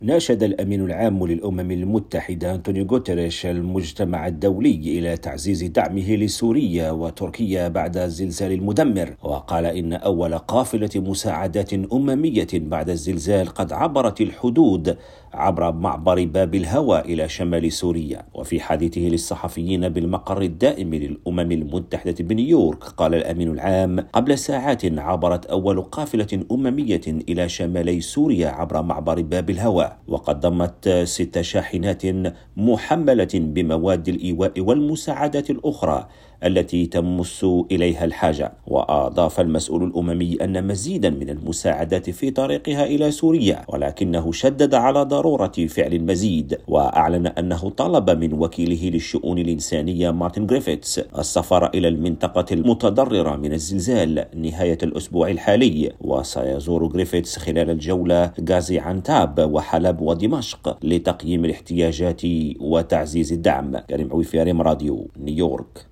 ناشد الأمين العام للأمم المتحدة أنطونيو غوتيريش المجتمع الدولي إلى تعزيز دعمه لسوريا وتركيا بعد الزلزال المدمر، وقال إن أول قافلة مساعدات أممية بعد الزلزال قد عبرت الحدود عبر معبر باب الهوى إلى شمال سوريا. وفي حديثه للصحفيين بالمقر الدائم للأمم المتحدة بنيويورك، قال الأمين العام: قبل ساعات عبرت أول قافلة أممية إلى شمالي سوريا عبر معبر باب الهوى، وقد ضمت 6 شاحنات محملة بمواد الإيواء والمساعدات الأخرى التي تمس إليها الحاجة. وأضاف المسؤول الأممي أن مزيدا من المساعدات في طريقها إلى سوريا، ولكنه شدد على ضرورة فعل المزيد، وأعلن أنه طلب من وكيله للشؤون الإنسانية مارتن غريفيثس السفر إلى المنطقة المتضررة من الزلزال نهاية الأسبوع الحالي. وسيزور غريفيثس خلال الجولة غازي عنتاب وحلب ودمشق لتقييم الاحتياجات وتعزيز الدعم. كريم عويفي، ريم راديو، نيويورك.